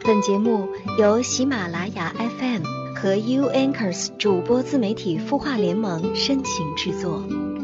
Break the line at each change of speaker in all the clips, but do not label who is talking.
本节目由喜马拉雅 FM 和 U Anchors 主播自媒体孵化联盟深情制作。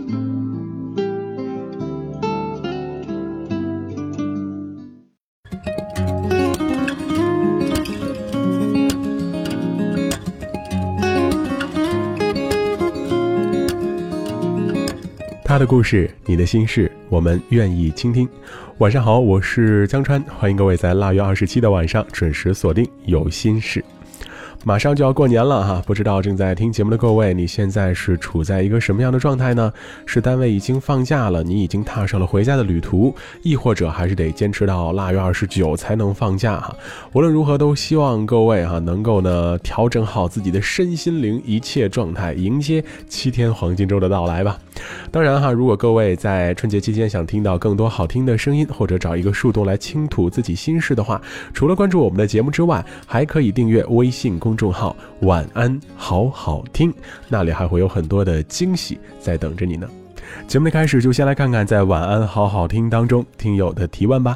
他的故事，你的心事，我们愿意倾听。晚上好，我是江川，欢迎各位在腊月27的晚上准时锁定有心事。马上就要过年了哈，不知道正在听节目的各位，你现在是处在一个什么样的状态呢？是单位已经放假了，你已经踏上了回家的旅途，亦或者还是得坚持到腊月29才能放假哈。无论如何，都希望各位能够呢调整好自己的身心灵一切状态，迎接7天黄金周的到来吧。当然如果各位在春节期间想听到更多好听的声音，或者找一个树洞来倾吐自己心事的话，除了关注我们的节目之外，还可以订阅微信公众号晚安好好听，那里还会有很多的惊喜在等着你呢。节目的开始就先来看看在晚安好好听当中听友的提问吧。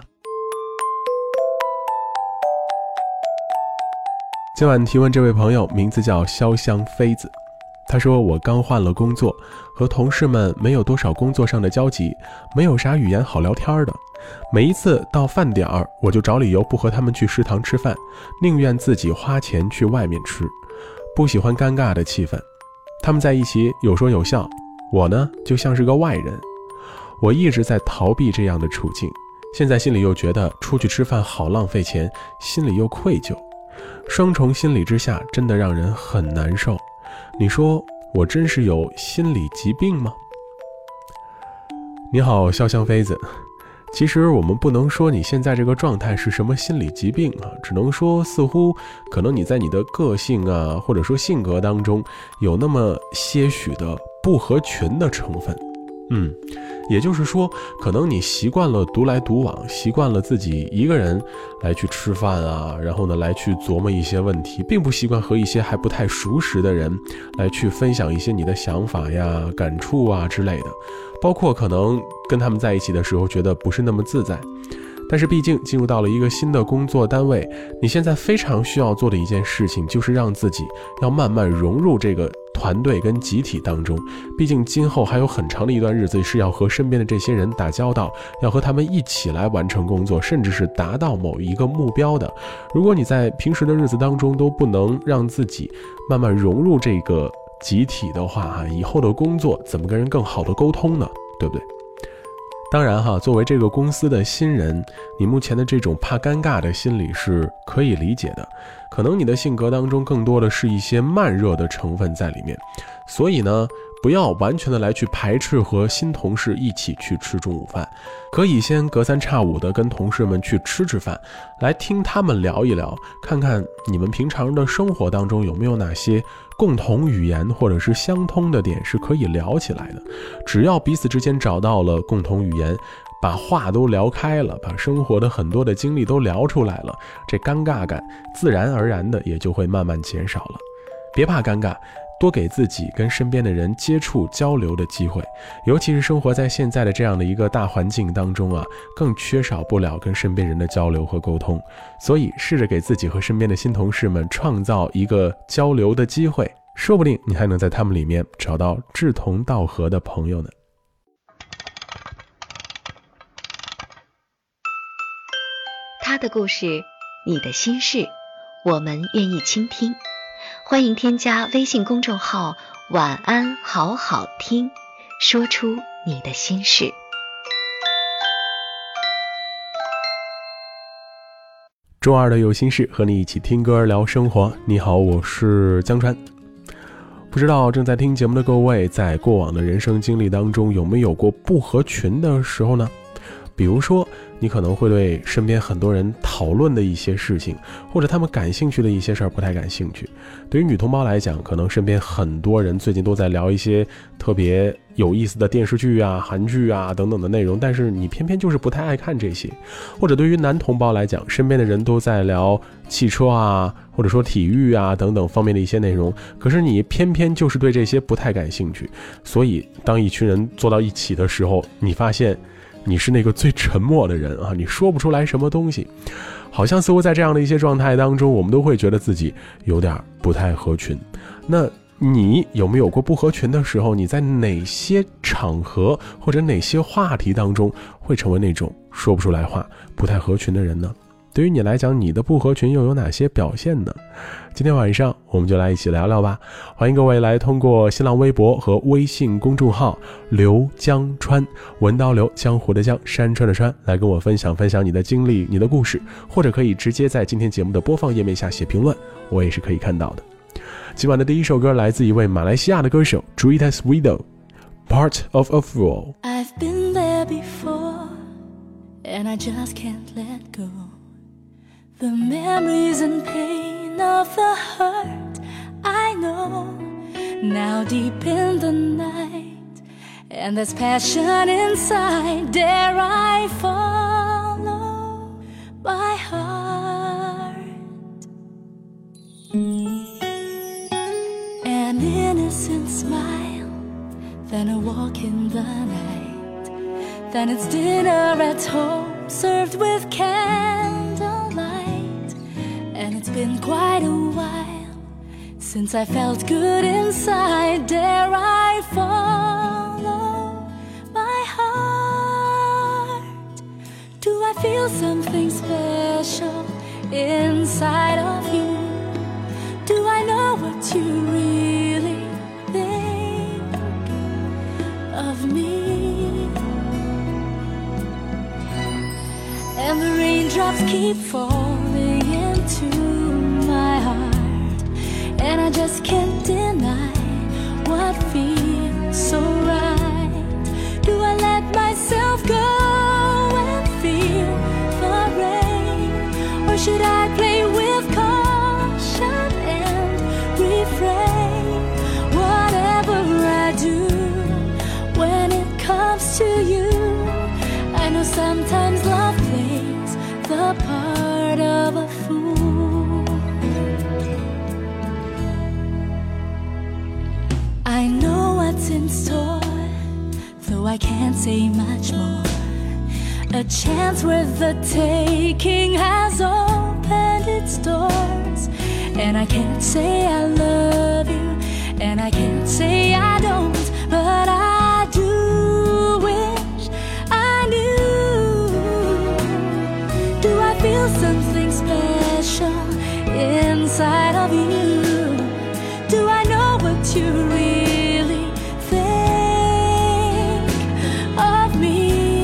今晚提问这位朋友名字叫潇湘妃子，他说我刚换了工作，和同事们没有多少工作上的交集，没有啥语言好聊天的。每一次到饭点儿，我就找理由不和他们去食堂吃饭，宁愿自己花钱去外面吃，不喜欢尴尬的气氛。他们在一起有说有笑，我呢就像是个外人。我一直在逃避这样的处境，现在心里又觉得出去吃饭好浪费钱，心里又愧疚，双重心理之下真的让人很难受。你说我真是有心理疾病吗？你好，潇湘妃子，其实我们不能说你现在这个状态是什么心理疾病只能说似乎可能你在你的个性或者说性格当中有那么些许的不合群的成分。也就是说，可能你习惯了独来独往，习惯了自己一个人来去吃饭然后呢来去琢磨一些问题，并不习惯和一些还不太熟识的人来去分享一些你的想法感触之类的，包括可能跟他们在一起的时候觉得不是那么自在。但是毕竟进入到了一个新的工作单位，你现在非常需要做的一件事情就是让自己要慢慢融入这个团队跟集体当中，毕竟今后还有很长的一段日子是要和身边的这些人打交道，要和他们一起来完成工作，甚至是达到某一个目标的。如果你在平时的日子当中都不能让自己慢慢融入这个集体的话以后的工作怎么跟人更好的沟通呢？对不对？当然作为这个公司的新人，你目前的这种怕尴尬的心理是可以理解的，可能你的性格当中更多的是一些慢热的成分在里面，所以呢不要完全的来去排斥和新同事一起去吃中午饭，可以先隔三差五的跟同事们去吃饭，来听他们聊一聊，看看你们平常的生活当中有没有哪些共同语言或者是相通的点是可以聊起来的。只要彼此之间找到了共同语言，把话都聊开了，把生活的很多的经历都聊出来了，这尴尬感自然而然的也就会慢慢减少了。别怕尴尬，多给自己跟身边的人接触交流的机会，尤其是生活在现在的这样的一个大环境当中更缺少不了跟身边人的交流和沟通，所以试着给自己和身边的新同事们创造一个交流的机会，说不定你还能在他们里面找到志同道合的朋友呢。
他的故事，你的心事，我们愿意倾听。欢迎添加微信公众号晚安好好听，说出你的心事。
周二的有心事，和你一起听歌聊生活。你好，我是江川。不知道正在听节目的各位，在过往的人生经历当中有没有过不合群的时候呢？比如说你可能会对身边很多人讨论的一些事情，或者他们感兴趣的一些事儿不太感兴趣。对于女同胞来讲，可能身边很多人最近都在聊一些特别有意思的电视剧韩剧等等的内容，但是你偏偏就是不太爱看这些。或者对于男同胞来讲，身边的人都在聊汽车或者说体育等等方面的一些内容，可是你偏偏就是对这些不太感兴趣。所以当一群人坐到一起的时候，你发现你是那个最沉默的人啊，你说不出来什么东西，好像似乎在这样的一些状态当中，我们都会觉得自己有点不太合群。那你有没有过不合群的时候？你在哪些场合或者哪些话题当中会成为那种说不出来话、不太合群的人呢？对于你来讲，你的不合群又有哪些表现呢？今天晚上我们就来一起聊聊吧。欢迎各位来通过新浪微博和微信公众号刘江川，文刀刘，江湖的江，山川的川，来跟我分享你的经历、你的故事，或者可以直接在今天节目的播放页面下写评论，我也是可以看到的。今晚的第一首歌来自一位马来西亚的歌手 Julitas Widow, Part of a Fool.
I've been there before, and I just can't let go. The memories and pain of the hurt I know, now deep in the night, and there's passion inside. Dare I follow my heart?An innocent smile, then a walk in the night, then it's dinner at home served with candlelight. And it's been quite a while since I felt good inside. Dare I follow my heart? Do I feel something special inside of you?Do I know what you really think of me? And the raindrops keep falling into my heart, and I just can't deny what feels so right. Do I let myself go and feel the rain, or should I play with caution?Whatever I do, when it comes to you, I know sometimes love plays the part of a fool. I know what's in store, though I can't say much more. A chance worth the taking has opened its doors, and I can't say I love you, and I can't say I don't, but I do wish I knew. Do I feel something special inside of you? Do I know what you really think of me?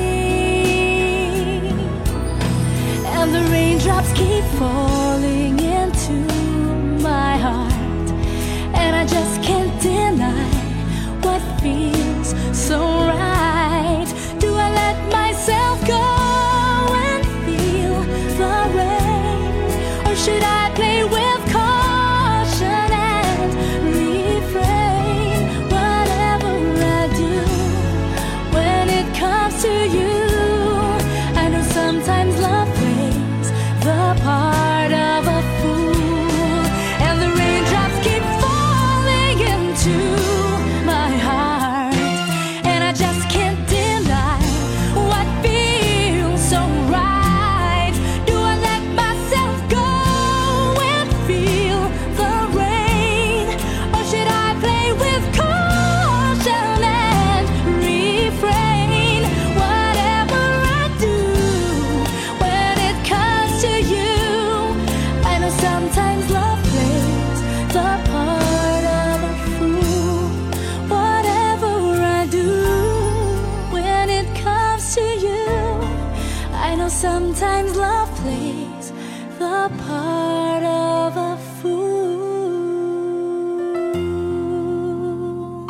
And the raindrops keep falling into my heart, and I just can't deny what feels so right. Do I let myself go and feel the rain, or should I play with caution and refrain? Whatever I do, when it comes to you, I know sometimes love plays the part of a fool.Sometimes love plays the part of a fool.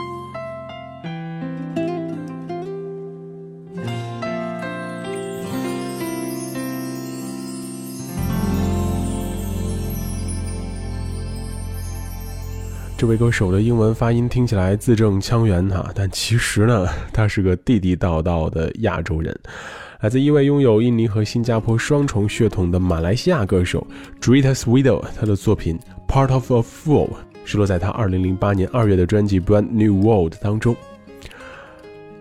这位歌手的英文发音听起来字正腔圆但其实呢，他是个地地道道的亚洲人。来自一位拥有印尼和新加坡双重血统的马来西亚歌手 Julitas Widow， 他的作品 Part of a Fool 是落在他2008年2月的专辑 Brand New World 当中。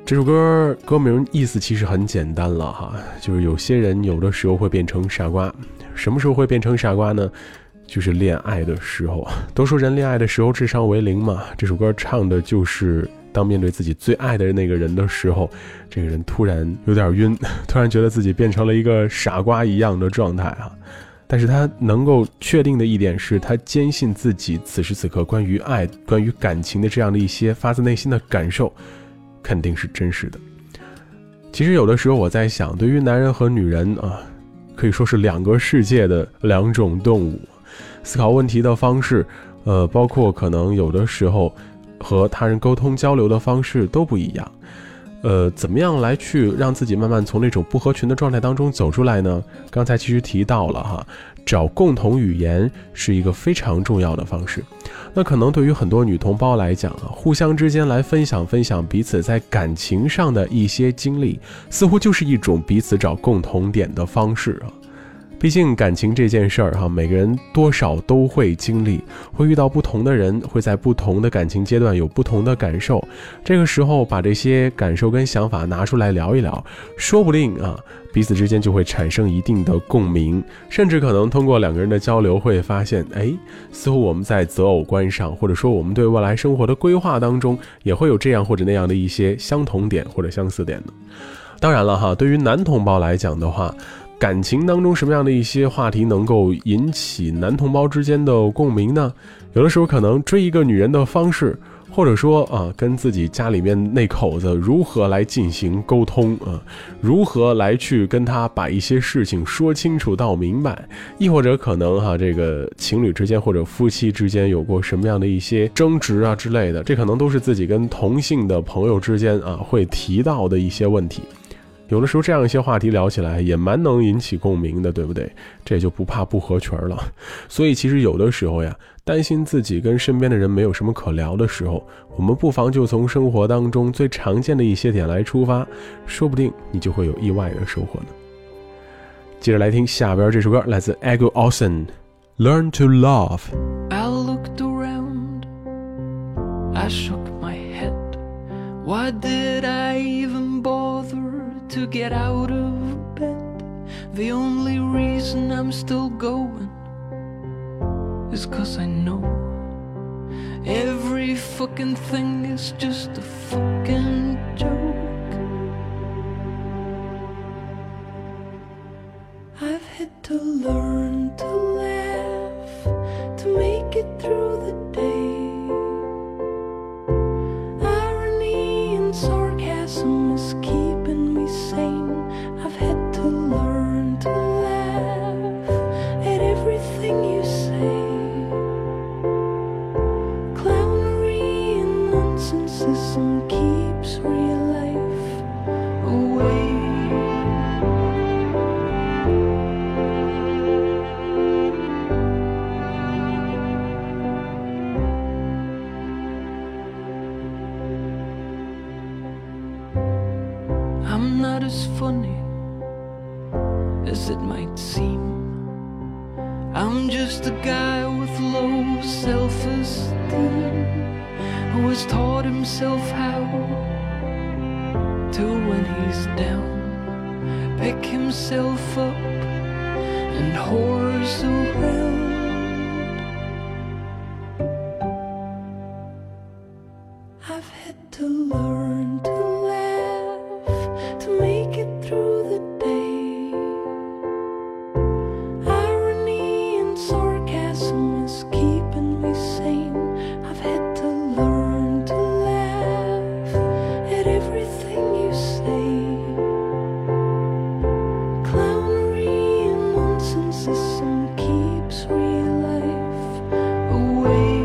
这首歌歌名意思其实很简单了哈，就是有些人有的时候会变成傻瓜。什么时候会变成傻瓜呢？就是恋爱的时候。都说人恋爱的时候智商为0嘛，这首歌唱的就是当面对自己最爱的那个人的时候，这个人突然有点晕，突然觉得自己变成了一个傻瓜一样的状态啊。但是他能够确定的一点是，他坚信自己此时此刻关于爱、关于感情的这样的一些发自内心的感受肯定是真实的。其实有的时候我在想，对于男人和女人啊，可以说是2个世界的2种动物，思考问题的方式包括可能有的时候和他人沟通交流的方式都不一样。怎么样来去让自己慢慢从那种不合群的状态当中走出来呢？刚才其实提到了哈，找共同语言是一个非常重要的方式。那可能对于很多女同胞来讲啊，互相之间来分享彼此在感情上的一些经历，似乎就是一种彼此找共同点的方式啊。毕竟感情这件事儿哈，每个人多少都会经历，会遇到不同的人，会在不同的感情阶段有不同的感受。这个时候把这些感受跟想法拿出来聊一聊，说不定啊，彼此之间就会产生一定的共鸣，甚至可能通过2个人的交流会发现，似乎我们在择偶观上，或者说我们对未来生活的规划当中，也会有这样或者那样的一些相同点或者相似点的。当然了哈，对于男同胞来讲的话，感情当中什么样的一些话题能够引起男同胞之间的共鸣呢？有的时候可能追一个女人的方式，或者说跟自己家里面那口子如何来进行沟通如何来去跟他把一些事情说清楚到明白，亦或者可能这个情侣之间或者夫妻之间有过什么样的一些争执啊之类的，这可能都是自己跟同性的朋友之间会提到的一些问题。有的时候这样一些话题聊起来也蛮能引起共鸣的，对不对？这也就不怕不合群了。所以其实有的时候呀，担心自己跟身边的人没有什么可聊的时候，我们不妨就从生活当中最常见的一些点来出发，说不定你就会有意外的收获呢。接着来听下边这首歌，来自 Ego Olsen Learn to Love。
I looked around, I shook my head. Why did I even bother to get out of bed? The only reason I'm still going is 'cause I know every fucking thing is just a fucking joke. I've had to learn to laugh to make it through the day. Irony and sarcasm is keeping me sane. I've had to learn to laugh at everything you say. Clownery and nonsense keeps real life away. I'm not as funny as it might seem. I'm just a guy with low self-esteem who has taught himself how to, when he's down, pick himself up and horse around. I've had to learn to laugh to make it through the day. Irony and sarcasm is keeping me sane. I've had to learn to laugh at everything you say. Clownery and nonsense keeps real life away.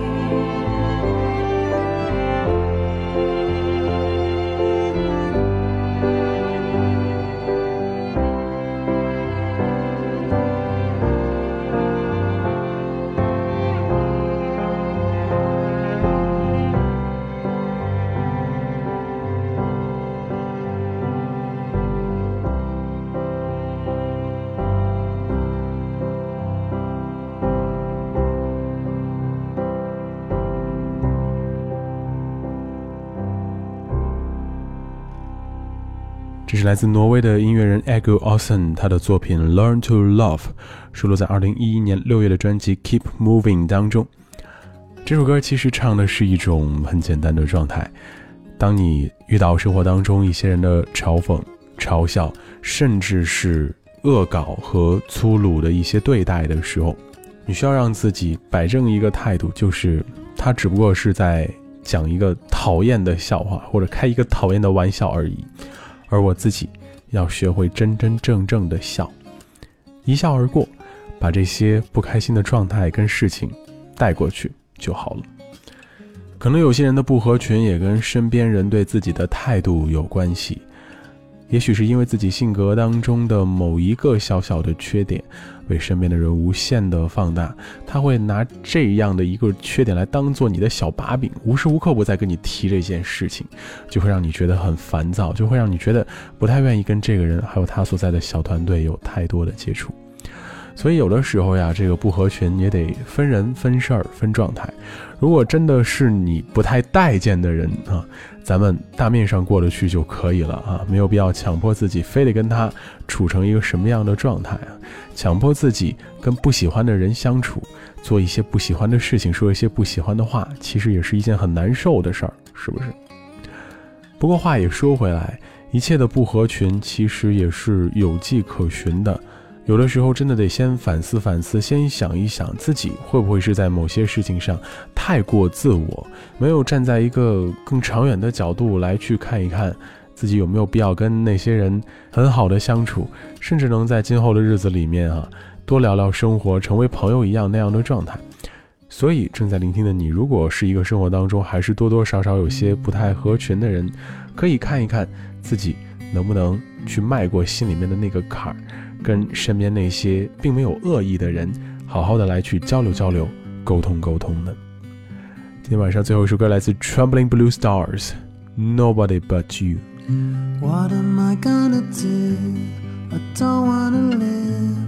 这是来自挪威的音乐人 Ego Olsen 他的作品 Learn to Love， 收录在2011年6月的专辑 Keep Moving 当中。这首歌其实唱的是一种很简单的状态，当你遇到生活当中一些人的嘲讽、嘲笑，甚至是恶搞和粗鲁的一些对待的时候，你需要让自己摆正一个态度，就是他只不过是在讲一个讨厌的笑话或者开一个讨厌的玩笑而已，而我自己要学会真真正正的笑，一笑而过，把这些不开心的状态跟事情带过去就好了。可能有些人的不合群也跟身边人对自己的态度有关系，也许是因为自己性格当中的某一个小小的缺点被身边的人无限的放大，他会拿这样的一个缺点来当做你的小把柄，无时无刻不在跟你提这件事情，就会让你觉得很烦躁，就会让你觉得不太愿意跟这个人还有他所在的小团队有太多的接触。所以有的时候呀，这个不合群也得分人分事儿分状态。如果真的是你不太待见的人啊，咱们大面上过得去就可以了啊，没有必要强迫自己非得跟他处成一个什么样的状态啊，强迫自己跟不喜欢的人相处，做一些不喜欢的事情，说一些不喜欢的话，其实也是一件很难受的事儿，是不是？不过话也说回来，一切的不合群其实也是有迹可循的。有的时候真的得先反思反思，先想一想自己会不会是在某些事情上太过自我，没有站在一个更长远的角度来去看一看自己有没有必要跟那些人很好的相处，甚至能在今后的日子里面多聊聊生活，成为朋友一样那样的状态。所以正在聆听的你，如果是一个生活当中还是多多少少有些不太合群的人，可以看一看自己能不能去迈过心里面的那个坎儿，跟身边那些并没有恶意的人好好的来去交流交流，沟通沟通的。今天晚上最后一首歌来自 Trembling Blue Stars Nobody But You。
What am I gonna do? I don't wanna live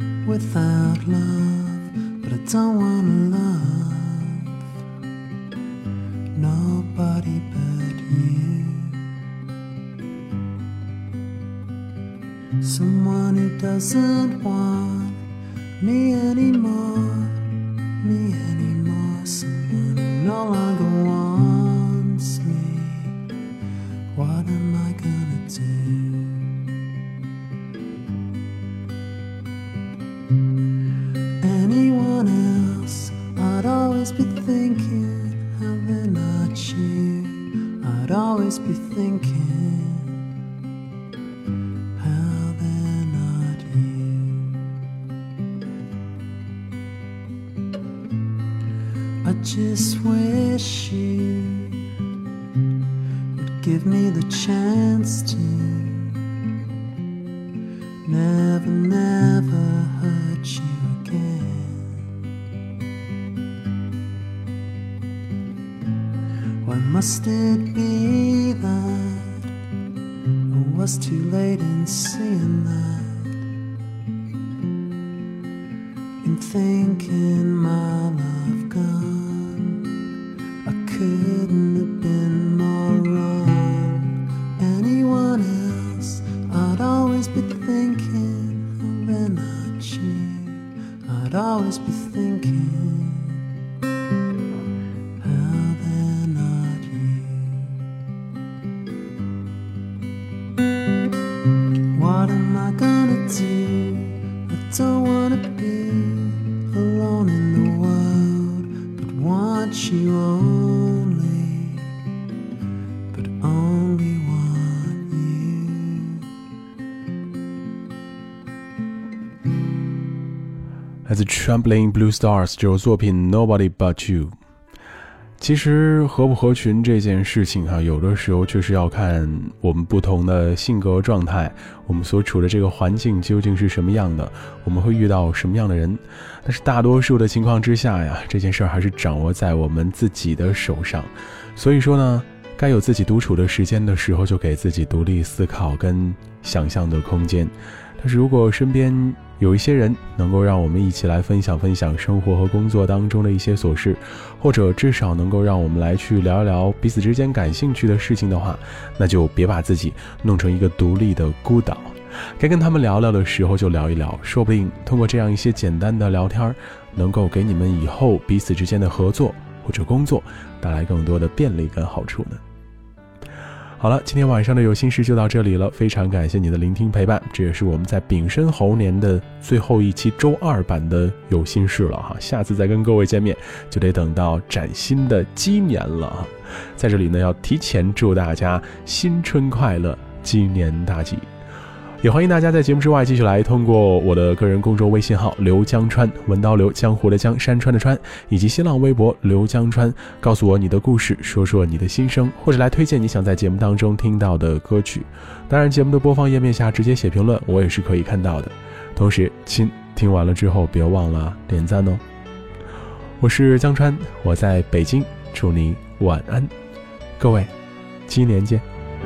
without love, but I don't wanna love nobody but you. Someone who doesn't want me anymore, someone who no longer wants me. What am I gonna do? Anyone else, I'd always be thinking how they're not you. I'd always be thinking I just wish you would give me the chance to never, never hurt you again. Why must it be that I was too late in seeing that, in thinking my love gone? Couldn't have been more wrong. Anyone else, I'd always be thinking, oh, they're not you. I'd always be thinking how they're not you. What am I gonna do? I don't wanna be alone in the world, but want you on.
来自 Trembling Blue Stars 这首作品 Nobody But You。 其实合不合群这件事情有的时候确实要看我们不同的性格状态，我们所处的这个环境究竟是什么样的，我们会遇到什么样的人。但是大多数的情况之下呀，这件事还是掌握在我们自己的手上。所以说呢，该有自己独处的时间的时候，就给自己独立思考跟想象的空间。但是如果身边有一些人能够让我们一起来分享分享生活和工作当中的一些琐事，或者至少能够让我们来去聊一聊彼此之间感兴趣的事情的话，那就别把自己弄成一个独立的孤岛。该跟他们聊聊的时候就聊一聊，说不定通过这样一些简单的聊天，能够给你们以后彼此之间的合作或者工作带来更多的便利跟好处呢。好了，今天晚上的有心事就到这里了，非常感谢你的聆听陪伴，这也是我们在丙申猴年的最后一期周二版的有心事了哈，下次再跟各位见面就得等到崭新的鸡年了哈。在这里呢，要提前祝大家新春快乐，鸡年大吉。也欢迎大家在节目之外继续来通过我的个人公众微信号刘江川，文刀刘，江湖的江，山川的川，以及新浪微博刘江川，告诉我你的故事，说说你的心声，或者来推荐你想在节目当中听到的歌曲。当然节目的播放页面下直接写评论，我也是可以看到的。同时听完了之后别忘了点赞哦。我是江川，我在北京，祝你晚安，各位鸡年见。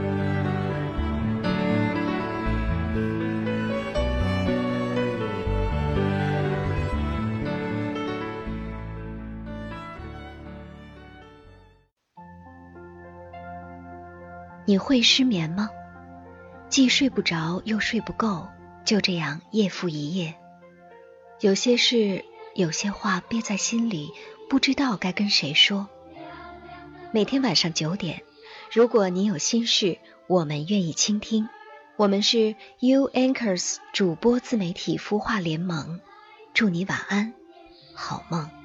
你会失眠吗？既睡不着又睡不够，就这样夜复一夜。有些事，有些话憋在心里，不知道该跟谁说。每天晚上9点，如果你有心事，我们愿意倾听。我们是 You Anchors 主播自媒体孵化联盟，祝你晚安，好梦。